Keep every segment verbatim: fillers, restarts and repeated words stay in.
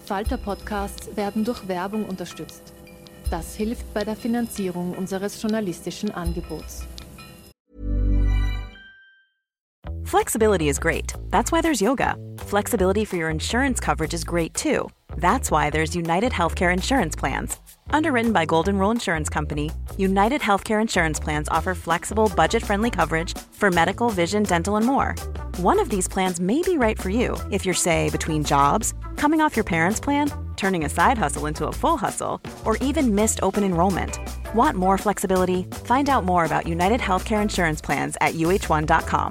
Falter-Podcasts werden durch Werbung unterstützt. Das hilft bei der Finanzierung unseres journalistischen Angebots. Flexibility is great. That's why there's yoga. Flexibility for your insurance coverage is great too. That's why there's United Healthcare Insurance Plans. Underwritten by Golden Rule Insurance Company, United Healthcare Insurance Plans offer flexible, budget-friendly coverage for medical, vision, dental, and more. One of these plans may be right for you if you're, say, between jobs, coming off your parents' plan, turning a side hustle into a full hustle, or even missed open enrollment. Want more flexibility? Find out more about United Healthcare Insurance Plans at U H one dot com.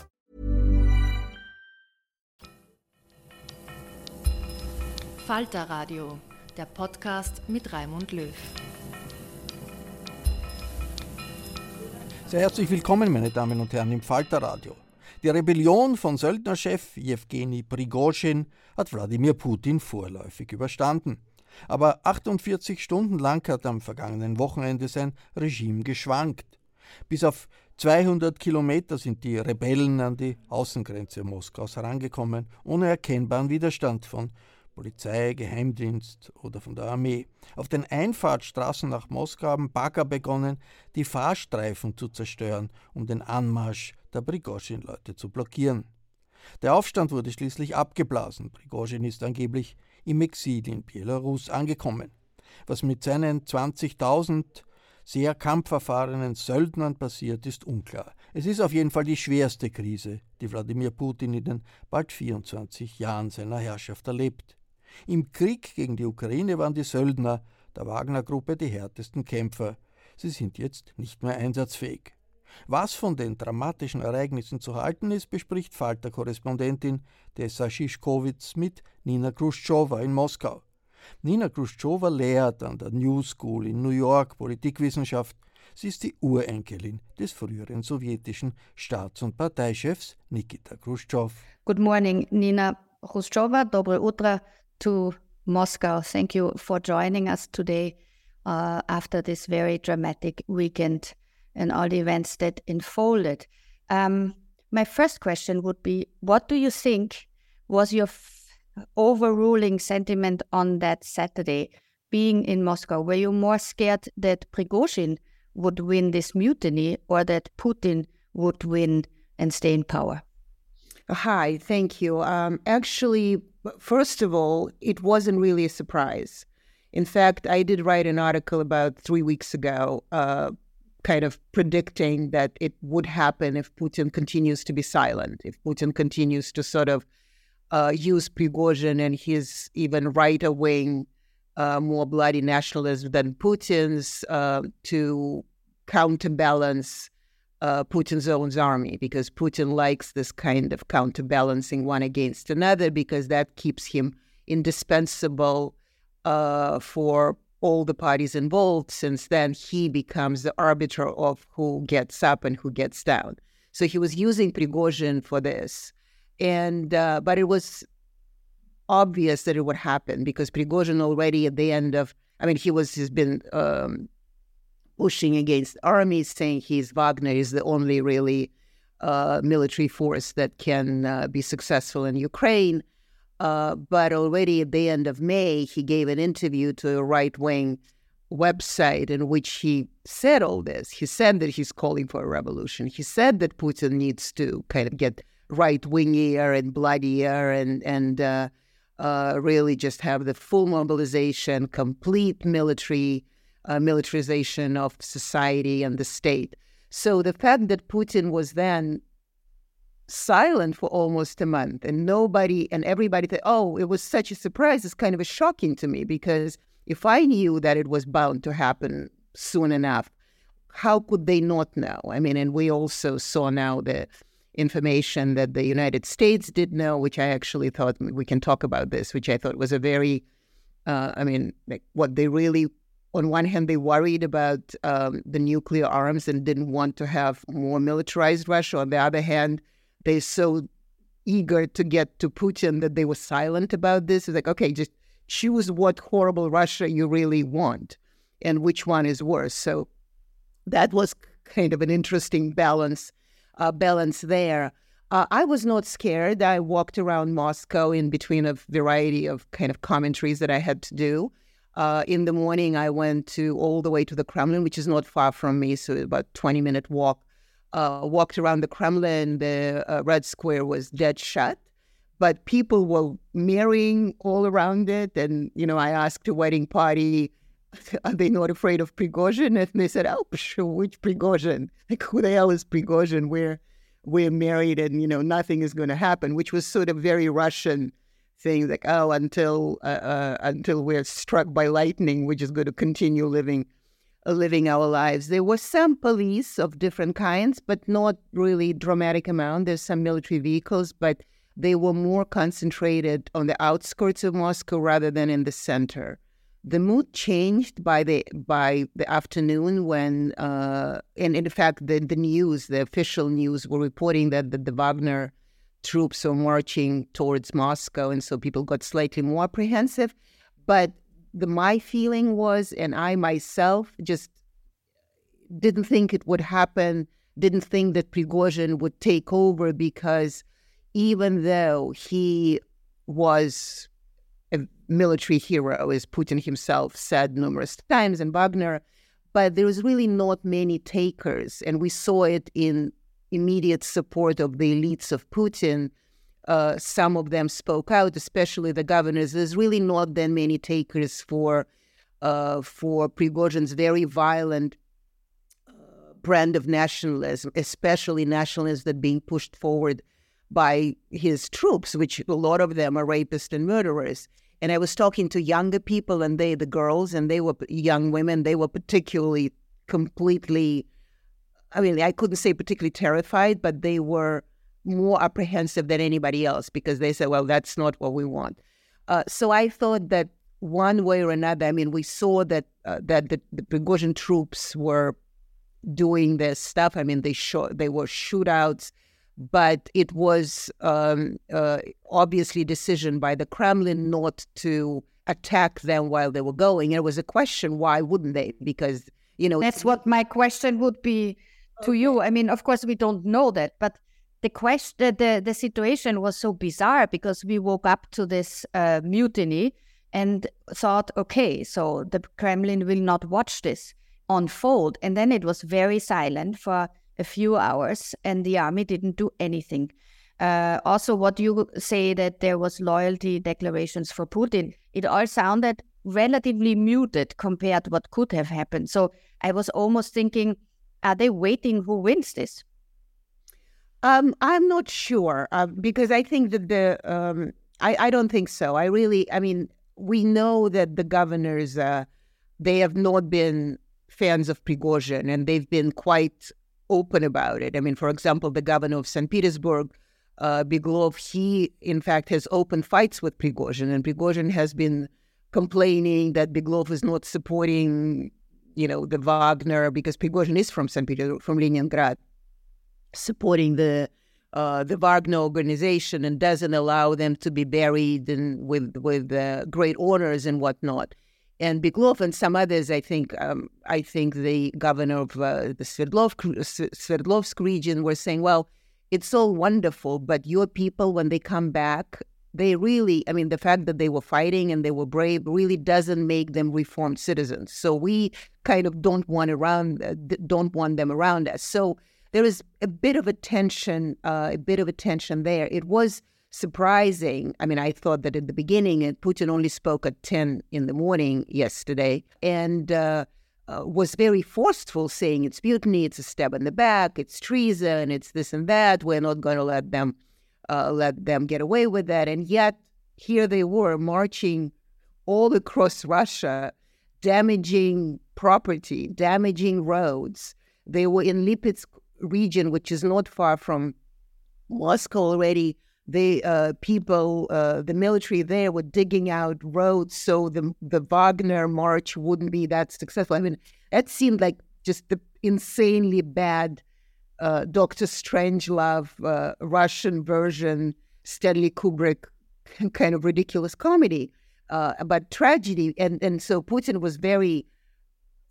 Falter Radio, der Podcast mit Raimund Löw. Sehr herzlich willkommen, meine Damen und Herren, im Falter Radio. Die Rebellion von Söldnerchef Jewgeni Prigozhin hat Wladimir Putin vorläufig überstanden. Aber achtundvierzig Stunden lang hat am vergangenen Wochenende sein Regime geschwankt. Bis auf zweihundert Kilometer sind die Rebellen an die Außengrenze Moskaus herangekommen, ohne erkennbaren Widerstand von Polizei, Geheimdienst oder von der Armee. Auf den Einfahrtstraßen nach Moskau haben Bagger begonnen, die Fahrstreifen zu zerstören, um den Anmarsch der Prigozhin-Leute zu blockieren. Der Aufstand wurde schließlich abgeblasen. Prigozhin ist angeblich im Exil in Belarus angekommen. Was mit seinen zwanzigtausend sehr kampferfahrenen Söldnern passiert, ist unklar. Es ist auf jeden Fall die schwerste Krise, die Wladimir Putin in den bald vierundzwanzig Jahren seiner Herrschaft erlebt. Im Krieg gegen die Ukraine waren die Söldner der Wagner-Gruppe die härtesten Kämpfer. Sie sind jetzt nicht mehr einsatzfähig. Was von den dramatischen Ereignissen zu halten ist, bespricht Falter-Korrespondentin Tessa Szyszkowitz mit Nina Khrushcheva in Moskau. Nina Khrushcheva lehrt an der New School in New York Politikwissenschaft. Sie ist die Urenkelin des früheren sowjetischen Staats- und Parteichefs Nikita Khrushchev. Good morning, Nina Khrushcheva. Dobre utro to Moscow. Thank you for joining us today uh, after this very dramatic weekend and all the events that unfolded. Um, my first question would be, what do you think was your f- overruling sentiment on that Saturday, being in Moscow? Were you more scared that Prigozhin would win this mutiny or that Putin would win and stay in power? Hi, thank you. Um, actually, first of all, it wasn't really a surprise. In fact, I did write an article about three weeks ago, uh, kind of predicting that it would happen if Putin continues to be silent, if Putin continues to sort of uh, use Prigozhin and his even right wing, uh, more bloody nationalism than Putin's uh, to counterbalance uh, Putin's own army, because Putin likes this kind of counterbalancing one against another, because that keeps him indispensable uh, for all the parties involved, since then he becomes the arbiter of who gets up and who gets down. So he was using Prigozhin for this. And uh, but it was obvious that it would happen, because Prigozhin already at the end of, I mean, he was, he's been um, pushing against armies, saying he's Wagner is the only really uh, military force that can uh, be successful in Ukraine. Uh, but already at the end of May, he gave an interview to a right-wing website in which he said all this. He said that he's calling for a revolution. He said that Putin needs to kind of get right-wingier and bloodier and, and uh, uh, really just have the full mobilization, complete military uh, militarization of society and the state. So the fact that Putin was then silent for almost a month and nobody and everybody thought, oh, it was such a surprise, it's kind of a shocking to me, because if I knew that it was bound to happen soon enough, how could they not know? I mean, and we also saw now the information that the United States did know, which I actually thought, we can talk about this, which I thought was a very, uh, I mean, like what they really, on one hand, they worried about um, the nuclear arms and didn't want to have more militarized Russia. On the other hand, they're so eager to get to Putin that they were silent about this. It's like, okay, just choose what horrible Russia you really want and which one is worse. So that was kind of an interesting balance, uh, balance there. Uh, I was not scared. I walked around Moscow in between a variety of kind of commentaries that I had to do. Uh, in the morning, I went to all the way to the Kremlin, which is not far from me, so about twenty-minute walk. Uh, walked around the Kremlin. The uh, Red Square was dead shut, but people were marrying all around it. And, you know, I asked a wedding party, are they not afraid of Prigozhin? And they said, oh, sure, which Prigozhin? Like, who the hell is Prigozhin? We're, we're married and, you know, nothing is going to happen, which was sort of very Russian thing, like, oh, until uh, uh, until we're struck by lightning, we're just going to continue living uh, living our lives. There was some police of different kinds, but not really dramatic amount. There's some military vehicles, but they were more concentrated on the outskirts of Moscow rather than in the center. The mood changed by the by the afternoon when, uh, and in fact, the, the news, the official news, were reporting that the, the Wagner troops were marching towards Moscow, and so people got slightly more apprehensive. But the my feeling was, and I myself just didn't think it would happen, didn't think that Prigozhin would take over, because even though he was a military hero, as Putin himself said numerous times, and Wagner, but there was really not many takers. And we saw it in immediate support of the elites of Putin. Uh, some of them spoke out, especially the governors. There's really not that many takers for, uh, for Prigozhin's very violent uh, brand of nationalism, especially nationalism that being pushed forward by his troops, which a lot of them are rapists and murderers. And I was talking to younger people, and they, the girls, and they were young women, they were particularly completely, I mean, I couldn't say particularly terrified, but they were more apprehensive than anybody else, because they said, well, that's not what we want. Uh, so I thought that one way or another, I mean, we saw that uh, that the, the Prigozhin troops were doing this stuff. I mean, they, show, they were shootouts, but it was um, uh, obviously a decision by the Kremlin not to attack them while they were going. And it was a question, why wouldn't they? Because, you know... That's what my question would be to you. I mean, of course, we don't know that, but the question, the, the situation was so bizarre, because we woke up to this uh, mutiny and thought, okay, so the Kremlin will not watch this unfold. And then it was very silent for a few hours, and the army didn't do anything. Uh, also, what you say that there was loyalty declarations for Putin, it all sounded relatively muted compared to what could have happened. So I was almost thinking, are they waiting who wins this? Um, I'm not sure, uh, because I think that the, um, I, I don't think so. I really, I mean, we know that the governors, uh, they have not been fans of Prigozhin, and they've been quite open about it. I mean, for example, the governor of Saint Petersburg, uh, Beglov, he, in fact, has open fights with Prigozhin, and Prigozhin has been complaining that Beglov is not supporting, you know, the Wagner, because Prigozhin is from Saint Petersburg, from Leningrad, supporting the uh, the Wagner organization, and doesn't allow them to be buried and with with uh, great honors and whatnot. And Beglov and some others, I think, um, I think the governor of uh, the Sverdlov, Sverdlovsk region were saying, well, it's all wonderful, but your people, when they come back, they really, I mean, the fact that they were fighting and they were brave really doesn't make them reformed citizens. So we kind of don't want around, uh, don't want them around us. So there is a bit of a tension, uh, a bit of a tension there. It was surprising. I mean, I thought that at the beginning, and Putin only spoke at ten in the morning yesterday, and uh, uh, was very forceful, saying it's mutiny, it's a stab in the back, it's treason, it's this and that. We're not going to let them uh, let them get away with that. And yet, here they were marching all across Russia, damaging property, damaging roads. They were in Lipetsk region, which is not far from Moscow already. The uh, people, uh, the military there were digging out roads so the the Wagner march wouldn't be that successful. I mean, that seemed like just the insanely bad uh, Doctor Strangelove uh, Russian version, Stanley Kubrick kind of ridiculous comedy, uh, but tragedy. And, and so Putin was very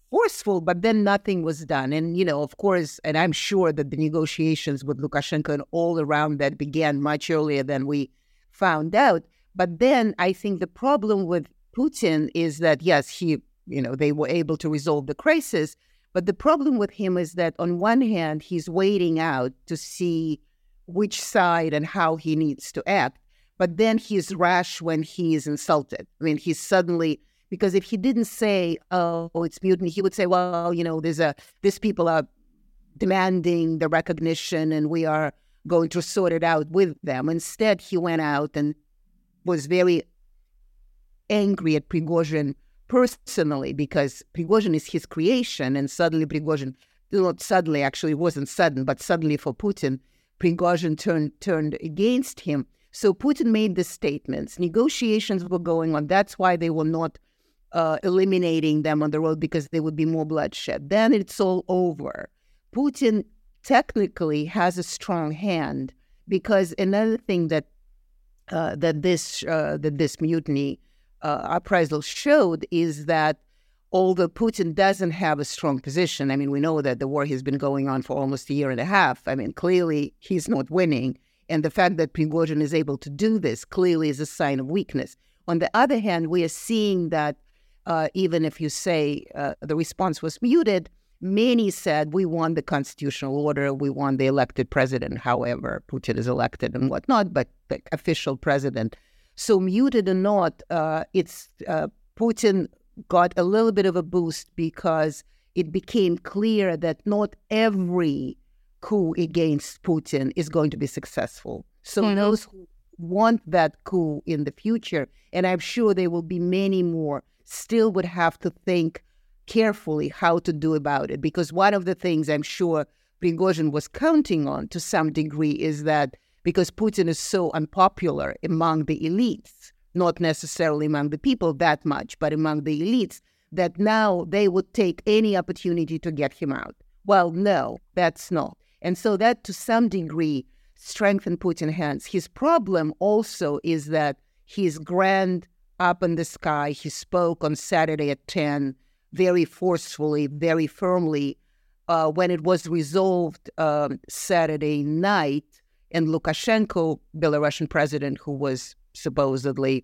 forceful, but then nothing was done. And, you know, of course, and I'm sure that the negotiations with Lukashenko and all around that began much earlier than we found out. But then I think the problem with Putin is that, yes, he, you know, they were able to resolve the crisis. But the problem with him is that on one hand, he's waiting out to see which side and how he needs to act. But then he's rash when he is insulted. I mean, he's suddenly, because if he didn't say, oh, it's mutiny, he would say, well, you know, there's a, these people are demanding the recognition and we are going to sort it out with them. Instead, he went out and was very angry at Prigozhin personally, because Prigozhin is his creation, and suddenly Prigozhin, not suddenly, actually it wasn't sudden, but suddenly for Putin, Prigozhin turned turned against him. So Putin made the statements. Negotiations were going on. That's why they were not uh, eliminating them on the road, because there would be more bloodshed. Then it's all over. Putin technically has a strong hand, because another thing that uh, that this uh, that this mutiny uh, uprisal showed is that although Putin doesn't have a strong position, I mean, we know that the war has been going on for almost a year and a half. I mean, clearly he's not winning. And the fact that Prigozhin is able to do this clearly is a sign of weakness. On the other hand, we are seeing that uh, even if you say uh, the response was muted, many said we want the constitutional order, we want the elected president, however Putin is elected and whatnot, but the official president. So muted or not, uh, it's uh, Putin got a little bit of a boost because it became clear that not every coup against Putin is going to be successful. So mm-hmm. those who want that coup in the future, and I'm sure there will be many more, still would have to think carefully how to do about it. Because one of the things I'm sure Prigozhin was counting on to some degree is that because Putin is so unpopular among the elites, not necessarily among the people that much, but among the elites, that now they would take any opportunity to get him out. Well, no, that's not. And so that to some degree strengthened Putin's hands. His problem also is that he's grand up in the sky. He spoke on Saturday at ten very forcefully, very firmly. Uh, when it was resolved um, Saturday night, and Lukashenko, Belarusian president, who was supposedly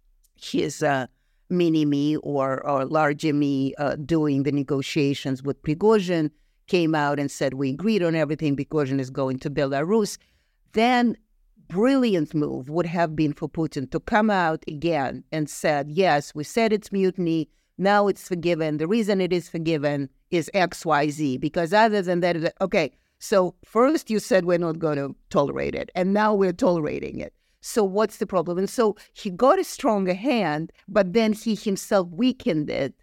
his uh, mini-me or, or large-me uh, doing the negotiations with Prigozhin, came out and said, we agreed on everything, Prigozhin is going to Belarus. Then brilliant move would have been for Putin to come out again and said, yes, we said it's mutiny, now it's forgiven. The reason it is forgiven is X Y Z, because other than that, okay, so first you said we're not going to tolerate it, and now we're tolerating it. So what's the problem? And so he got a stronger hand, but then he himself weakened it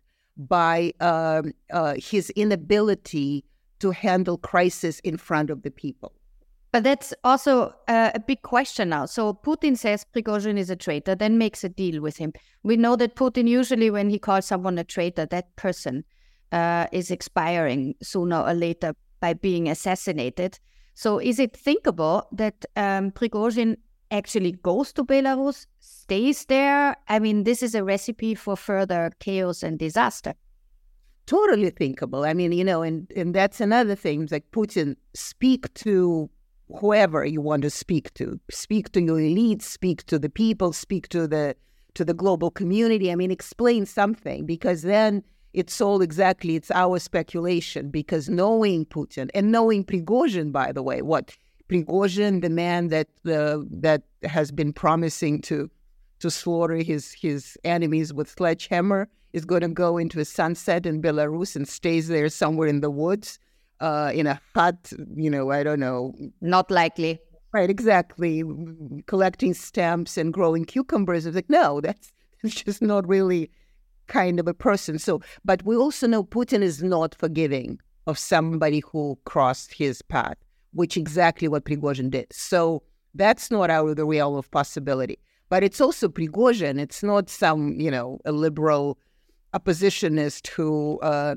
by uh, uh, his inability to handle crisis in front of the people. But that's also uh, a big question now. So Putin says Prigozhin is a traitor, then makes a deal with him. We know that Putin usually, when he calls someone a traitor, that person uh, is expiring sooner or later by being assassinated. So is it thinkable that um, Prigozhin actually goes to Belarus, stays there? I mean, this is a recipe for further chaos and disaster. Totally thinkable. I mean, you know, and, and that's another thing, like Putin, speak to whoever you want to speak to. Speak to your elites, speak to the people, speak to the to the global community. I mean, explain something, because then it's all exactly, it's our speculation, because knowing Putin and knowing Prigozhin, by the way, what Prigozhin, the man that uh, that has been promising to to slaughter his his enemies with sledgehammer, is going to go into a sunset in Belarus and stays there somewhere in the woods, uh, in a hut, you know, I don't know. Not likely. Right, exactly. Collecting stamps and growing cucumbers. It's like, no, that's, that's just not really kind of a person. So, but we also know Putin is not forgiving of somebody who crossed his path, which exactly what Prigozhin did. So that's not out of the realm of possibility. But it's also Prigozhin. It's not some, you know, a liberal oppositionist who uh,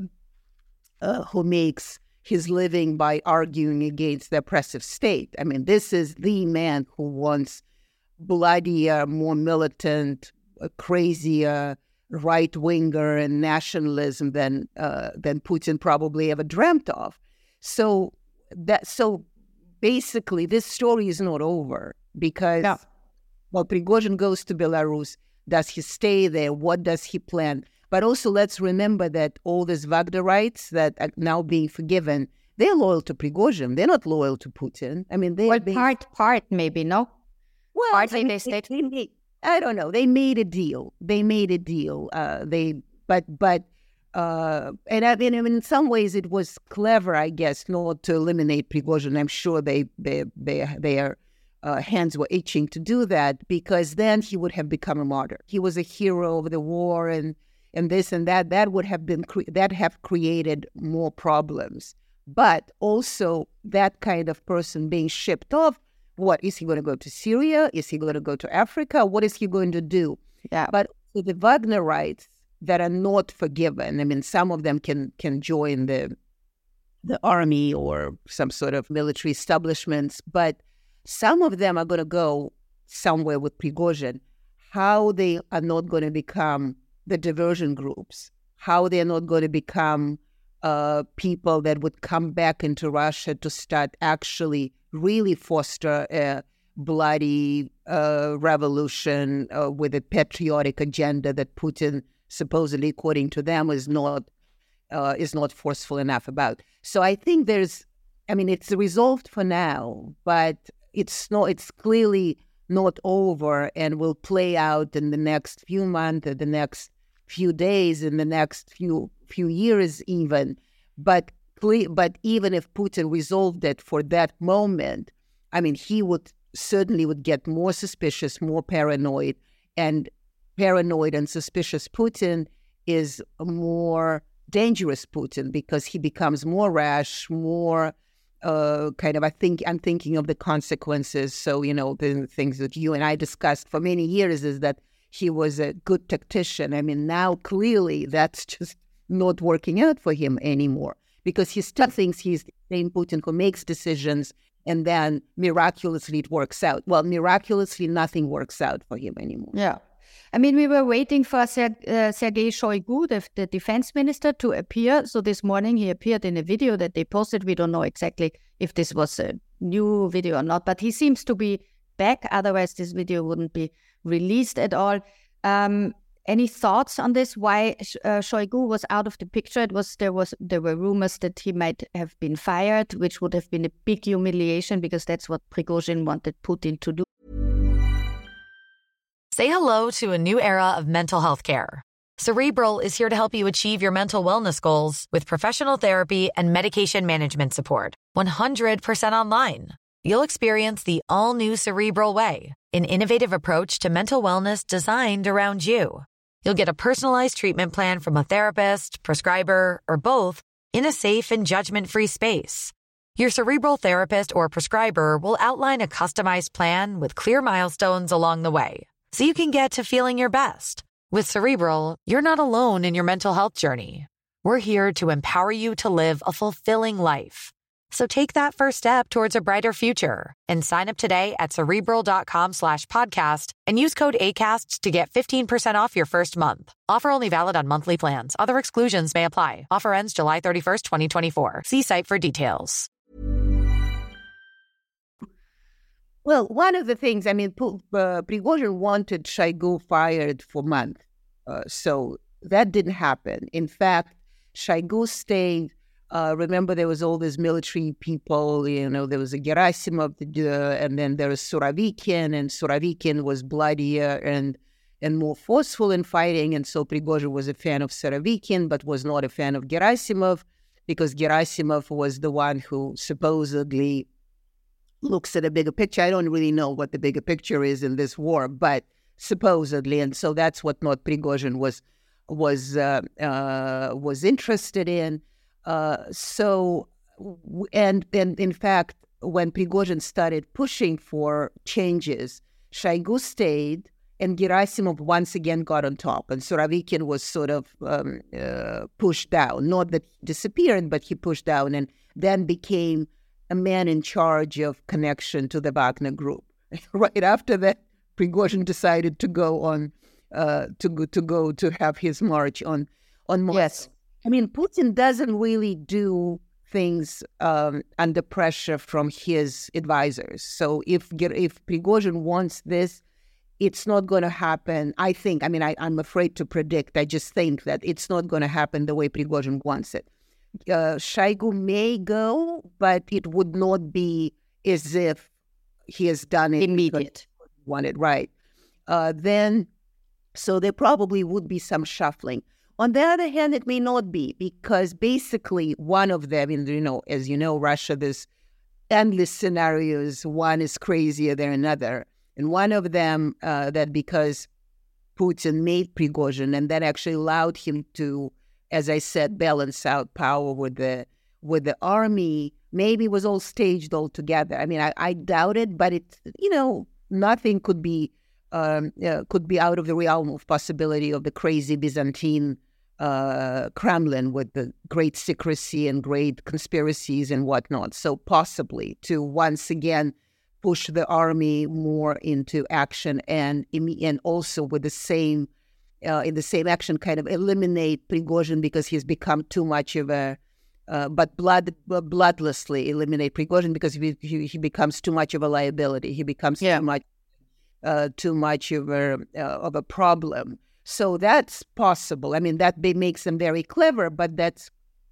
uh, who makes his living by arguing against the oppressive state. I mean, this is the man who wants bloodier, more militant, uh, crazier, right-winger and nationalism than uh, than Putin probably ever dreamt of. So that so basically, this story is not over because, Yeah. well, Prigozhin goes to Belarus. Does he stay there? What does he plan? But also, let's remember that all these Wagnerites that are now being forgiven, they're loyal to Prigozhin. They're not loyal to Putin. I mean, they Well, they- part, part maybe, no? well, partly I mean, they stayed- they made- I don't know. They made a deal. They made a deal. Uh, they, but, but, uh, and I mean, in some ways, it was clever, I guess, not to eliminate Prigozhin. I'm sure they, they, they, their uh, hands were itching to do that because then he would have become a martyr. He was a hero of the war, and and this and that. That would have been cre- that have created more problems. But also, that kind of person being shipped off. What, is he going to go to Syria? Is he going to go to Africa? What is he going to do? Yeah. But the Wagnerites that are not forgiven, I mean, some of them can can join the the army or some sort of military establishments, but some of them are going to go somewhere with Prigozhin. How they are not going to become the diversion groups, how they're not going to become uh, people that would come back into Russia to start actually really foster a bloody uh, revolution uh, with a patriotic agenda that Putin, supposedly, according to them, is not uh, is not forceful enough about. So I think there's, I mean, it's resolved for now, but it's not. It's clearly not over, and will play out in the next few months, in the next few days, in the next few few years, even. But But even if Putin resolved it for that moment, I mean, he would certainly would get more suspicious, more paranoid, and paranoid and suspicious Putin is a more dangerous Putin because he becomes more rash, more uh, kind of, I think, I'm thinking of the consequences. So, you know, the things that you and I discussed for many years is that he was a good tactician. I mean, now clearly that's just not working out for him anymore, because he still thinks he's the same Putin who makes decisions and then miraculously it works out. Well, miraculously nothing works out for him anymore. Yeah. I mean, we were waiting for Ser- uh, Sergei Shoigu, the, the defense minister, to appear. So this morning he appeared in a video that they posted. We don't know exactly if this was a new video or not, but he seems to be back. Otherwise, this video wouldn't be released at all. Um, Any thoughts on this? Why uh, Shoigu was out of the picture? It was there was there were rumors that he might have been fired, which would have been a big humiliation because that's what Prigozhin wanted Putin to do. Say hello to a new era of mental health care. Cerebral is here to help you achieve your mental wellness goals with professional therapy and medication management support. one hundred percent online. You'll experience the all-new Cerebral Way, an innovative approach to mental wellness designed around you. You'll get a personalized treatment plan from a therapist, prescriber, or both in a safe and judgment-free space. Your Cerebral therapist or prescriber will outline a customized plan with clear milestones along the way, so you can get to feeling your best. With Cerebral, you're not alone in your mental health journey. We're here to empower you to live a fulfilling life. So take that first step towards a brighter future and sign up today at Cerebral.com slash podcast and use code ACAST to get fifteen percent off your first month. Offer only valid on monthly plans. Other exclusions may apply. Offer ends July thirty-first, twenty twenty-four. See site for details. Well, one of the things, I mean, uh, Prigozhin wanted Shoigu fired for months. Uh, so that didn't happen. In fact, Shoigu stayed. Uh, remember, there was all these military people, you know, there was a Gerasimov, uh, and then there was Surovikin, and Surovikin was bloodier and and more forceful in fighting. And so Prigozhin was a fan of Surovikin, but was not a fan of Gerasimov, because Gerasimov was the one who supposedly looks at a bigger picture. I don't really know what the bigger picture is in this war, but supposedly. And so that's what not Prigozhin was, was, uh, uh, was interested in. Uh, so, and, and in fact, when Prigozhin started pushing for changes, Shoigu stayed and Gerasimov once again got on top. And Surovikin was sort of um, uh, pushed down. Not that he disappeared, but he pushed down and then became a man in charge of connection to the Wagner Group. Right after that, Prigozhin decided to go on uh, to go to go to have his march on on Moscow. Yes. I mean, Putin doesn't really do things um, under pressure from his advisors. So if if Prigozhin wants this, it's not going to happen. I think. I mean, I, I'm afraid to predict. I just think that it's not going to happen the way Prigozhin wants it. Uh, Shoigu may go, but it would not be as if he has done it Immediate. wanted right. Uh, then, so there probably would be some shuffling. On the other hand, it may not be, because basically one of them, in you know, as you know, Russia, there's endless scenarios. One is crazier than another, and one of them uh, that because Putin made Prigozhin, and that actually allowed him to, as I said, balance out power with the with the army. Maybe it was all staged all together. I mean, I, I doubt it, but it, you know, nothing could be um, uh, could be out of the realm of possibility of the crazy Byzantine uh, Kremlin with the great secrecy and great conspiracies and whatnot. So possibly to once again push the army more into action, and and also with the same uh, in the same action, kind of eliminate Prigozhin because he's become too much of a Uh, but blood, uh, bloodlessly eliminate Prigozhin because he, he he becomes too much of a liability. He becomes Yeah. too much, uh, too much of a uh, of a problem. So that's possible. I mean, that be, makes them very clever, but that's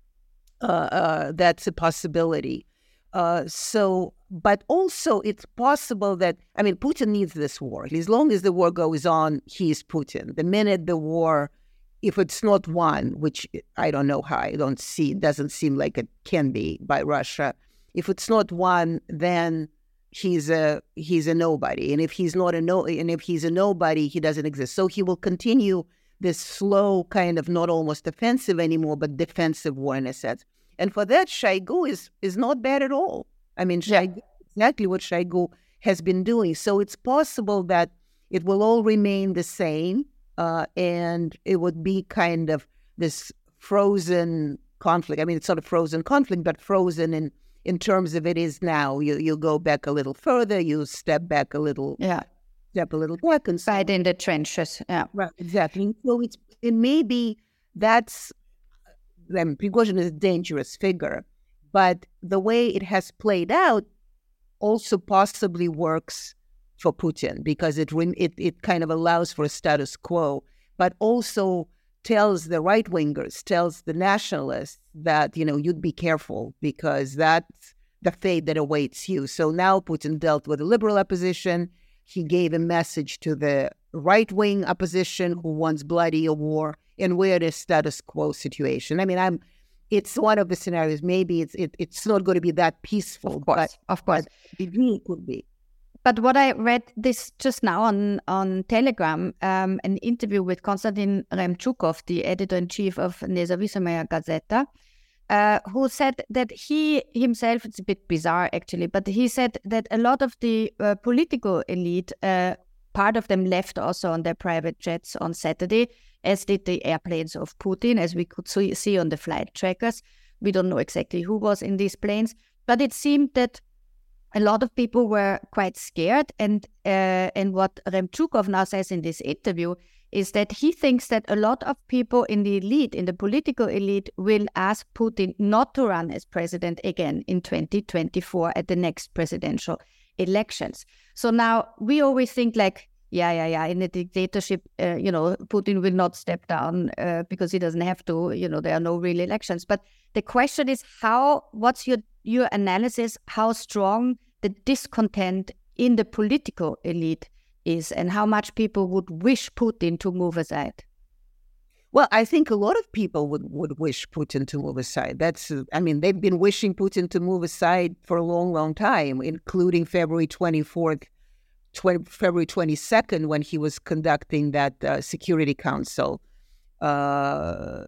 uh, uh, that's a possibility. Uh, so, but also it's possible that I mean, Putin needs this war. As long as the war goes on, he's Putin. The minute the war, if it's not won, which I don't know how, I don't see, it doesn't seem like it can be by Russia. If it's not won, then he's a he's a nobody, and if he's not a no, and if he's a nobody, he doesn't exist. So he will continue this slow kind of not almost offensive anymore, but defensive war in a sense. And for that, Shoigu is is not bad at all. I mean, Shoigu, exactly what Shoigu has been doing. So it's possible that it will all remain the same. Uh, and it would be kind of this frozen conflict. I mean, it's sort of frozen conflict, but frozen in, in terms of it is now. You you go back a little further, you step back a little, Yeah. step a little back, and so Fight in the trenches. Yeah. right, exactly. So it's it may be that's. I mean, Prigozhin is a dangerous figure, but the way it has played out also possibly works for Putin, because it, it it kind of allows for a status quo, but also tells the right-wingers, tells the nationalists that, you know, you'd be careful because that's the fate that awaits you. So now Putin dealt with the liberal opposition. He gave a message to the right-wing opposition who wants bloody a war, and we're in a status quo situation. I mean, I'm. It's one of the scenarios. Maybe it's it, it's not going to be that peaceful, Of course, but of course. it really could be. But what I read this just now on, on Telegram, um, an interview with Konstantin Remchukov, the editor-in-chief of Nezavisomaya Gazeta, uh, who said that he himself, it's a bit bizarre actually, but he said that a lot of the uh, political elite, uh, part of them left also on their private jets on Saturday, as did the airplanes of Putin, as we could see, see on the flight trackers. We don't know exactly who was in these planes, but it seemed that a lot of people were quite scared, and uh, and what Remchukov now says in this interview is that he thinks that a lot of people in the elite, in the political elite, will ask Putin not to run as president again in twenty twenty-four at the next presidential elections. So now we always think like, yeah, yeah, yeah, in a dictatorship, uh, you know, Putin will not step down uh, because he doesn't have to, you know, there are no real elections. But the question is how, what's your your analysis, how strong the discontent in the political elite is, and how much people would wish Putin to move aside? Well, I think a lot of people would, would wish Putin to move aside. That's, uh, I mean, they've been wishing Putin to move aside for a long, long time, including February twenty-fourth, February twenty-second, when he was conducting that uh, Security Council uh,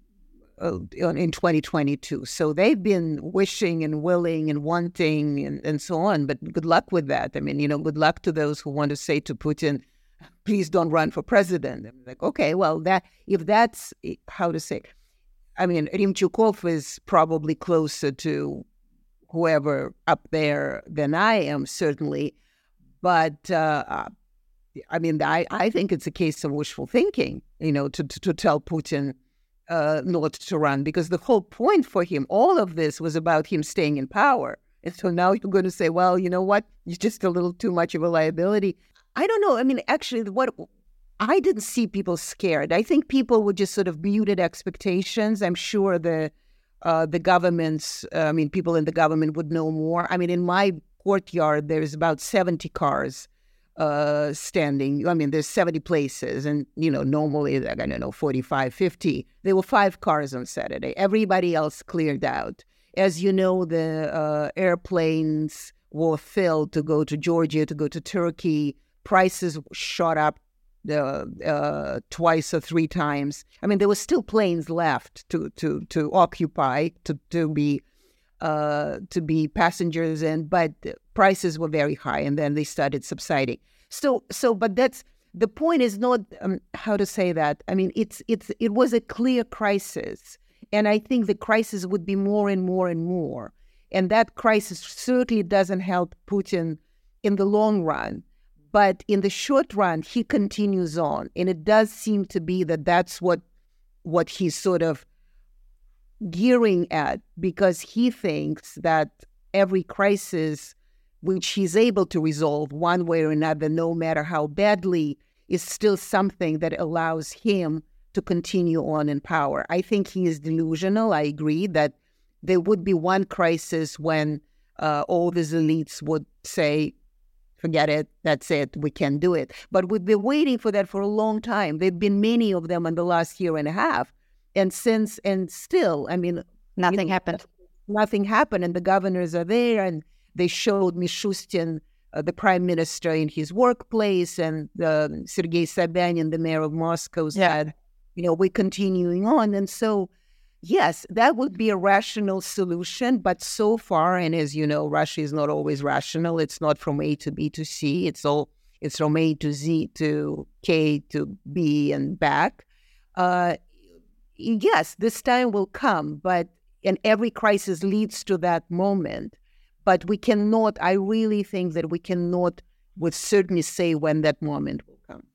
in twenty twenty-two. So they've been wishing and willing and wanting and, and so on. But good luck with that. I mean, you know, good luck to those who want to say to Putin, please don't run for president. I'm like, okay, well, that if that's how to say, I mean, Remchukov is probably closer to whoever up there than I am, certainly. But uh, I mean, I, I think it's a case of wishful thinking, you know, to, to, to tell Putin uh, not to run, because the whole point for him, all of this was about him staying in power. And so now you're going to say, well, you know what, you're just a little too much of a liability. I don't know. I mean, actually, what I didn't see people scared. I think people were just sort of muted expectations. I'm sure the uh, the governments, uh, I mean, people in the government would know more. I mean, in my courtyard, there's about seventy cars uh, standing. I mean, there's seventy places. And, you know, normally, like, I don't know, forty-five, fifty. There were five cars on Saturday. Everybody else cleared out. As you know, the uh, airplanes were filled to go to Georgia, to go to Turkey. Prices shot up uh, uh, twice or three times. I mean, there were still planes left to to to occupy, to to be uh, to be passengers in, but prices were very high, and then they started subsiding. So so, but that's the point. Is not um, how to say that. I mean, it's it's it was a clear crisis, and I think the crisis would be more and more and more, and that crisis certainly doesn't help Putin in the long run. But in the short run, he continues on. And it does seem to be that that's what what he's sort of gearing at, because he thinks that every crisis which he's able to resolve one way or another, no matter how badly, is still something that allows him to continue on in power. I think he is delusional. I agree that there would be one crisis when uh, all these elites would say, forget it, that's it, we can't do it. But we've been waiting for that for a long time. There have been many of them in the last year and a half. And since, and still, I mean... Nothing you know, happened. Nothing happened, and the governors are there, and they showed Mishustin, uh, the prime minister, in his workplace, and uh, Sergei Sobyanin, the mayor of Moscow, said, yeah. you know, we're continuing on. And so, yes, that would be a rational solution, but so far, and as you know, Russia is not always rational. It's not from A to B to C. It's all it's from A to Z to K to B and back. Uh, yes, this time will come, but and every crisis leads to that moment. But we cannot. I really think that we cannot, with certainty, say when that moment will come.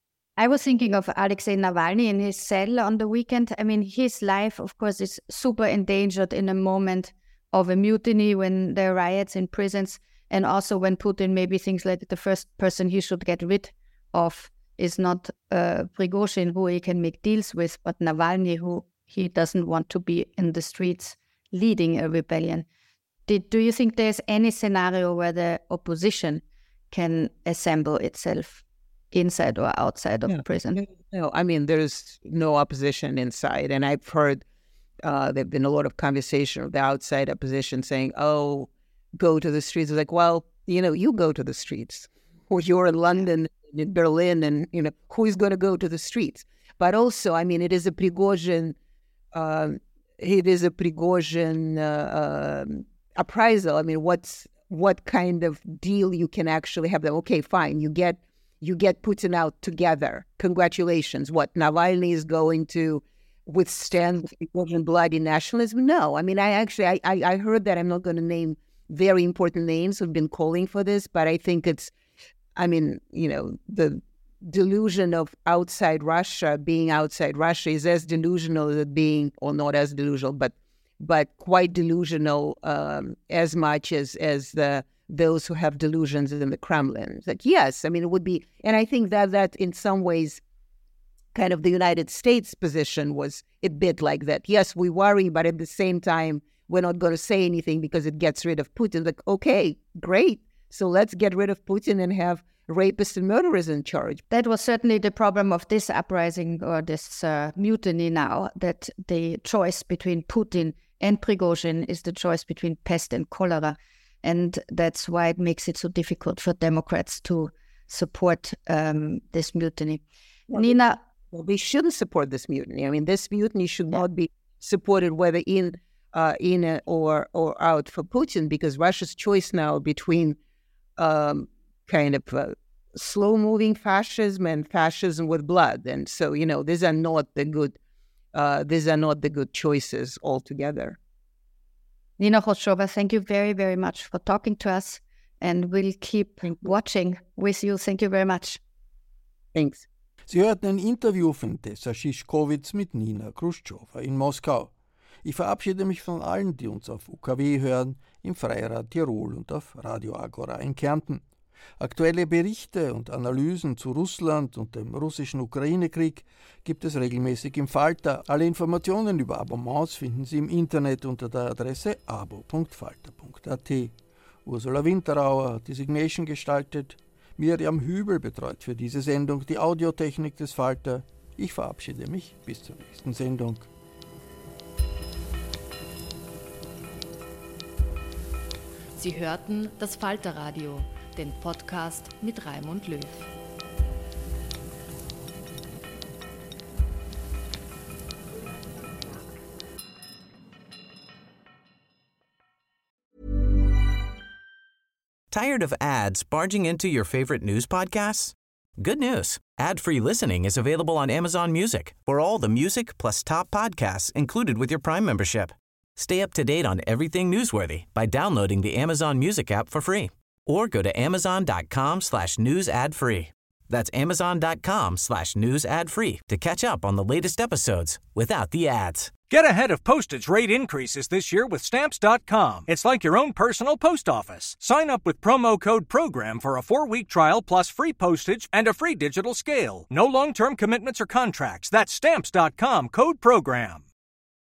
I was thinking of Alexei Navalny in his cell on the weekend. I mean, his life, of course, is super endangered in a moment of a mutiny, when there are riots in prisons, and also when Putin maybe thinks like the first person he should get rid of is not uh, Prigozhin, who he can make deals with, but Navalny, who he doesn't want to be in the streets leading a rebellion. Did, do you think there's any scenario where the opposition can assemble itself inside or outside of yeah. prison? No, I mean, there's no opposition inside. And I've heard uh, there have been a lot of conversation of the outside opposition saying, oh, go to the streets. It's like, well, you know, you go to the streets. Or you're in London, in Berlin, and, you know, who is going to go to the streets? But also, I mean, it is a Prigozhin, uh, it is a Prigozhin uh, um, appraisal. I mean, what's what kind of deal you can actually have them? Okay, fine, you get You get Putin out together. Congratulations. What, Navalny is going to withstand bloody nationalism? No. I mean, I actually, I, I, I heard that. I'm not going to name very important names who've been calling for this, but I think it's, I mean, you know, the delusion of outside Russia, being outside Russia, is as delusional as being, or not as delusional, but but quite delusional um, as much as, as the those who have delusions in the Kremlin. It's like, yes, I mean, it would be, and I think that that in some ways, kind of the United States position was a bit like that. Yes, we worry, but at the same time, we're not going to say anything because it gets rid of Putin. Like, okay, great. So let's get rid of Putin and have rapists and murderers in charge. That was certainly the problem of this uprising or this uh, mutiny now, that the choice between Putin and Prigozhin is the choice between pest and cholera. And that's why it makes it so difficult for Democrats to support um, this mutiny. Well, Nina? Well, they shouldn't support this mutiny. I mean, this mutiny should yeah. not be supported whether in uh, in a, or or out for Putin, because Russia's choice now between um, kind of uh, slow-moving fascism and fascism with blood. And so, you know, these are not the good uh, these are not the good choices altogether. Nina Khrushcheva, thank you very, very much for talking to us, and we'll keep watching with you. Thank you very much. Thanks. Sie hörten ein Interview von Tessa Szyszkowitz mit Nina Khrushcheva in Moskau. Ich verabschiede mich von allen, die uns auf U K W hören, im Freirad Tirol und auf Radio Agora in Kärnten. Aktuelle Berichte und Analysen zu Russland und dem russischen Ukraine-Krieg gibt es regelmäßig im Falter. Alle Informationen über Abonnements finden Sie im Internet unter der Adresse abo punkt falter punkt a t. Ursula Winterauer hat die Signation gestaltet. Miriam Hübel betreut für diese Sendung die Audiotechnik des Falter. Ich verabschiede mich bis zur nächsten Sendung. Sie hörten das Falterradio, den Podcast mit Raimund Löw. Tired of ads barging into your favorite news podcasts? Good news. Ad-free listening is available on Amazon Music for all the music plus top podcasts included with your Prime membership. Stay up to date on everything newsworthy by downloading the Amazon Music app for free or go to amazon.com slash news ad free. That's amazon.com slash news ad free to catch up on the latest episodes without the ads. Get ahead of postage rate increases this year with Stamps dot com. It's like your own personal post office. Sign up with promo code PROGRAM for a four-week trial plus free postage and a free digital scale. No long-term commitments or contracts. That's Stamps dot com, code PROGRAM.